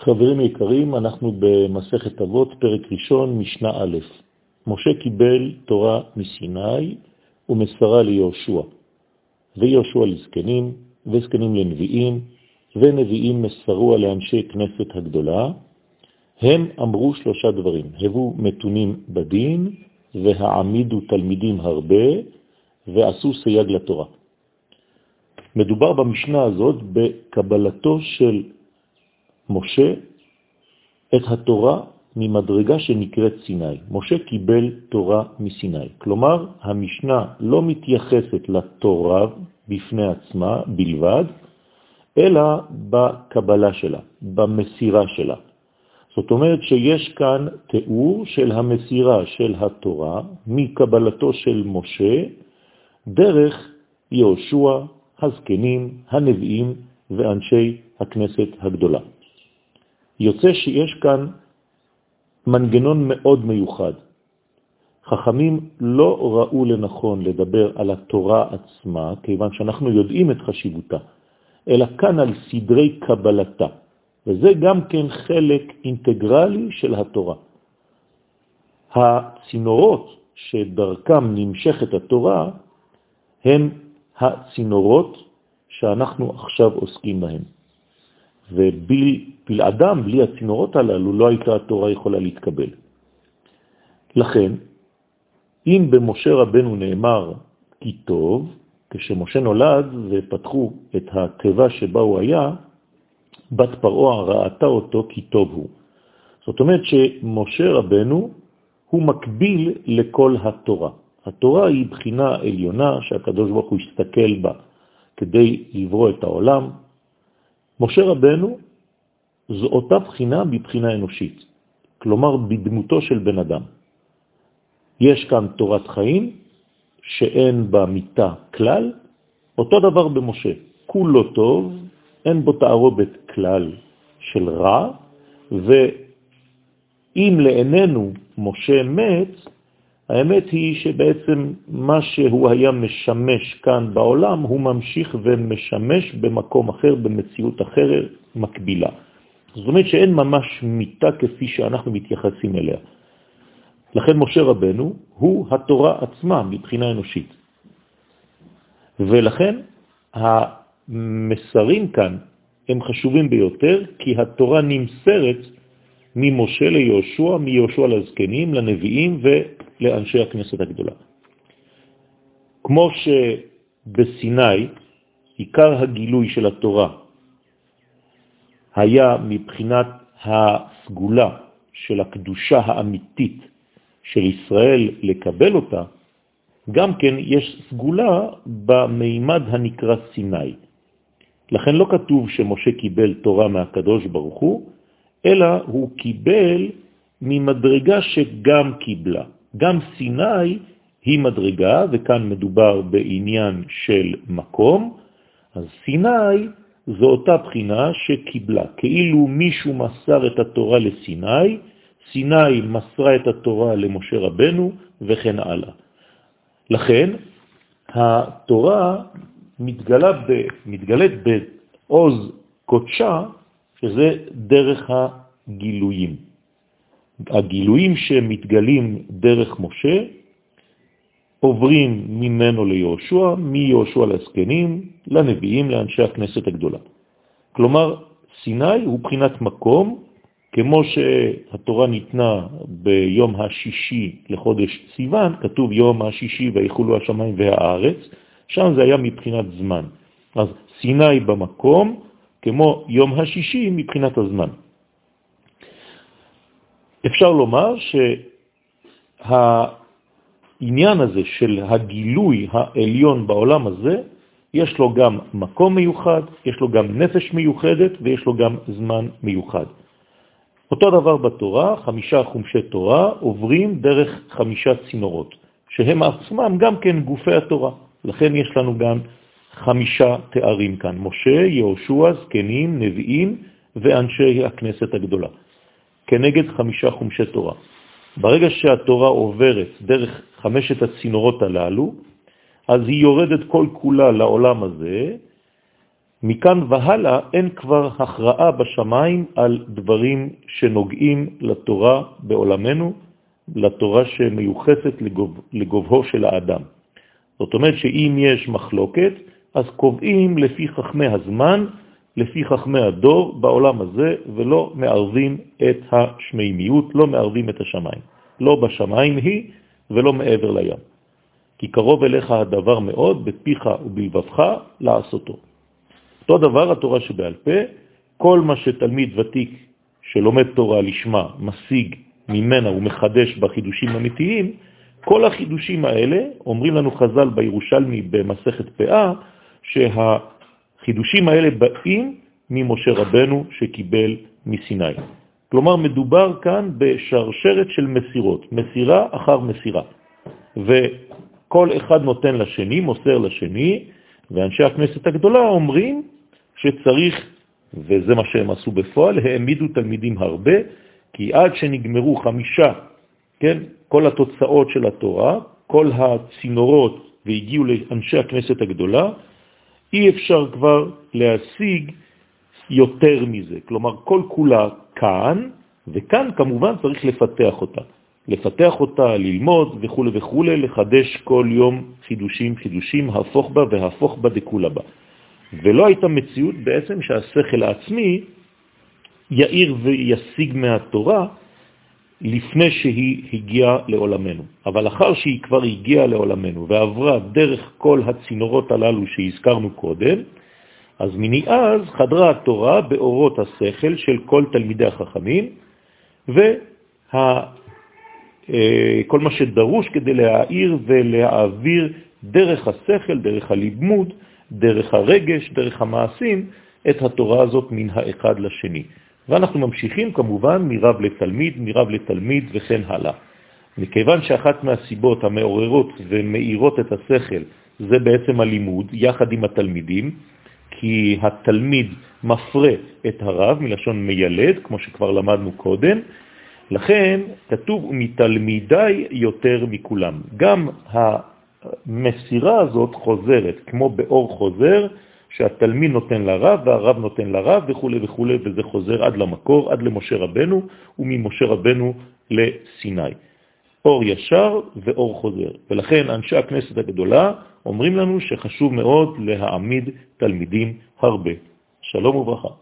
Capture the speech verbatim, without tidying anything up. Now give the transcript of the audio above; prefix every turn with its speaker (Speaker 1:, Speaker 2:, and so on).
Speaker 1: חברים יקרים, אנחנו במסכת אבות, פרק ראשון, משנה א'. משה קיבל תורה מסיני ומסרה ליהושע, ויהושע לזקנים, וזקנים לנביאים, ונביאים מסרו לאנשי כנסת הגדולה. הם אמרו שלושה דברים: הבו מתונים בדין, והעמידו תלמידים הרבה, ועשו סייג לתורה. מדובר במשנה הזאת בקבלתו של משה את התורה ממדרגה שנקראת סיני. משה קיבל תורה מסיני. כלומר, המשנה לא מתייחסת לתורה בפני עצמה בלבד, אלא בקבלה שלה, במסירה שלה. זאת אומרת שיש כאן תיאור של המסירה של התורה מקבלתו של משה דרך יהושע, הזקנים, הנביאים ואנשי הכנסת הגדולה. יוצא שיש כאן מנגנון מאוד מיוחד. חכמים לא ראו לנכון לדבר על התורה עצמה, כיוון שאנחנו יודעים את חשיבותה, אלא כאן על סדרי קבלתה. וזה גם כן חלק אינטגרלי של התורה. הצינורות שדרכם נמשכת התורה, הם הצינורות שאנחנו עכשיו עוסקים בהם. ובלעדם, בלי הצינורות הללו, לא הייתה התורה יכולה להתקבל. לכן, אם במשה רבנו נאמר כי טוב, כשמשה נולד ופתחו את התיבה שבה הוא היה, בת פרעה ראתה אותו כי טוב הוא. זאת אומרת שמשה רבנו הוא מקביל לכל התורה. התורה היא בחינה עליונה שהקדוש ברוך הוא הסתכל בה כדי לברוא את העולם. משה רבנו זו אותה בחינה בבחינה אנושית, כלומר בדמותו של בן אדם. יש כאן תורת חיים שאין בה מיטה כלל, אותו דבר במשה, כולו טוב, אין בו תערובת כלל של רע, ואם לעינינו משה מת, האמת היא שבעצם מה שהוא היה משמש כאן בעולם, הוא ממשיך ומשמש במקום אחר, במציאות אחרת, מקבילה. זאת אומרת שאין ממש מיטה כפי שאנחנו מתייחסים אליה. לכן משה רבנו הוא התורה עצמה מבחינה אנושית. ולכן המסרים כאן הם חשובים ביותר, כי התורה נמסרת ממשה ליהושע, מיהושע לזקנים, לנביאים ולאנשי הכנסת הגדולה. כמו שבסיני עיקר הגילוי של התורה היה מבחינת הסגולה של הקדושה האמיתית של ישראל לקבל אותה, גם כן יש סגולה במימד הנקרא סיני. לכן לא כתוב שמשה קיבל תורה מהקדוש ברוך הוא, אלא הוא קיבל ממדרגה שגם קיבלה. גם סיני היא מדרגה, וכאן מדובר בעניין של מקום, אז סיני זו אותה בחינה שקיבלה. כאילו מישהו מסר את התורה לסיני, סיני מסרה את התורה למשה רבנו וכן הלאה. לכן התורה מתגלה ב, מתגלת בעוז קודשה, שזה דרך הגילויים. הגילויים שמתגלים דרך משה עוברים ממנו ליהושע, מיהושע לזקנים, לנביאים, לאנשי הכנסת הגדולה. כלומר, סיני הוא בחינת מקום, כמו שהתורה ניתנה ביום השישי לחודש סיוון, כתוב יום השישי ויחולו השמיים והארץ, שם זה היה מבחינת זמן. אז סיני במקום, כמו יום השישי מבחינת הזמן. אפשר לומר שהעניין הזה של הגילוי העליון בעולם הזה, יש לו גם מקום מיוחד, יש לו גם נפש מיוחדת ויש לו גם זמן מיוחד. אותו דבר בתורה, חמישה חומשי תורה עוברים דרך חמישה צינורות, שהם עצמם גם כן גופי התורה. לכן יש לנו גם חמישה תארים כאן: משה, יהושע, זקנים, נביאים ואנשי הכנסת הגדולה, כנגד חמישה חומשי תורה. ברגע שהתורה עוברת דרך חמשת הצינורות הללו, אז היא יורדת כל כולה לעולם הזה, מכאן והלאה אין כבר הכרעה בשמיים על דברים שנוגעים לתורה בעולמנו, לתורה שמיוחסת לגוב, לגובהו של האדם. זאת אומרת שאם יש מחלוקת, אז קובעים לפי חכמי הזמן, לפי חכמי הדור בעולם הזה, ולא מערבים את השמימיות, לא מערבים את השמיים. לא בשמיים היא ולא מעבר לים. כי קרוב אליך הדבר מאוד, בפיך ובלבבך לעשותו. אותו דבר התורה שבעל פה, כל מה שתלמיד ותיק שלומד תורה לשמה, משיג ממנה ומחדש בחידושים אמיתיים, כל החידושים האלה, אומרים לנו חז"ל בירושלמי במסכת פאה, שהחידושים האלה באים ממשה רבנו שקיבל מסיני. כלומר, מדובר כאן בשרשרת של מסירות, מסירה אחר מסירה. וכל אחד נותן לשני, מוסר לשני, ואנשי הכנסת הגדולה אומרים שצריך, וזה מה שהם עשו בפועל, העמידו תלמידים הרבה, כי עד שנגמרו חמישה, כן, כל התוצאות של התורה, כל הצינורות והגיעו לאנשי הכנסת הגדולה, אי אפשר כבר להשיג יותר מזה. כלומר, כל כולה כאן, וכאן כמובן צריך לפתח אותה. לפתח אותה, ללמוד וכו' וכו', לחדש כל יום חידושים, חידושים, הפוך בה והפוך בה דכולה בה. ולא הייתה מציאות בעצם שהשכל העצמי יאיר וישיג מהתורה לפני שהיא הגיעה לעולמנו. אבל אחר שהיא כבר הגיעה לעולמנו ועברה דרך כל הצינורות הללו שהזכרנו קודם, אז מניאז חדרה התורה באורות השכל של כל תלמידי החכמים, וה... כל מה שדרוש כדי להעיר ולהעביר דרך השכל, דרך הלימוד, דרך הרגש, דרך המעשים, את התורה הזאת מן האחד לשני. ואנחנו ממשיכים כמובן מרב לתלמיד, מרב לתלמיד וכן הלאה. מכיוון שאחת מהסיבות המעוררות ומאירות את השכל זה בעצם הלימוד יחד עם התלמידים, כי התלמיד מפרה את הרב מלשון מיילד, כמו שכבר למדנו קודם, לכן כתוב ומתלמידי יותר מכולם. גם המסירה הזאת חוזרת, כמו באור חוזר, שהתלמיד נותן לרב והרב נותן לרב וכו' וכו', וזה חוזר עד למקור, עד למשה רבנו, וממשה רבנו לסיני. אור ישר ואור חוזר. ולכן אנשי הכנסת הגדולה אומרים לנו שחשוב מאוד להעמיד תלמידים הרבה. שלום וברכה.